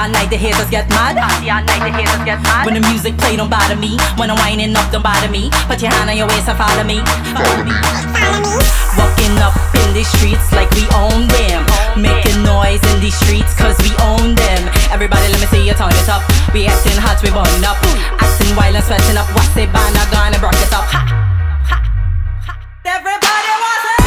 all night, the haters get mad. Party all night, the haters get mad. When the music play, don't bother me. When I'm winding up, don't bother me. Put your hand on your waist and follow me. Follow me. Walking up in the streets like we own them. Making noise in the streets cause we own them. Everybody let me see you turn it up. We acting hot, we burn up. Acting wild and sweating up. What's it, banner gonna broke it up. Ha! Ha! Ha! Everybody wants it!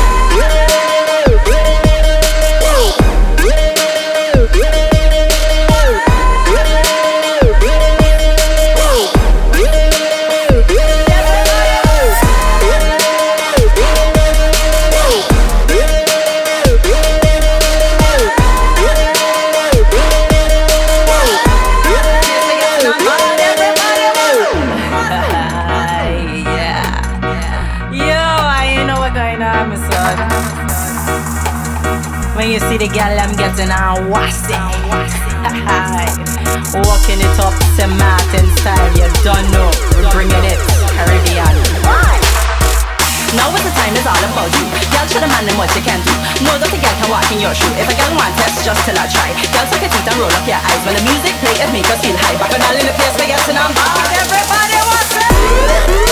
When you see the girl, I'm getting on wassy. Walking it up St. Martin style, you don't know. We're bringing it Caribbean. Now with the time is all about you. Girl, show the man them what you can do. Know that the girl can walk in your shoe. If a girl want test, just till I try. Girl, suck your teeth and roll up your eyes. When the music play, it make us feel high. Back and all in the place, we're getting on board. Everybody wants it.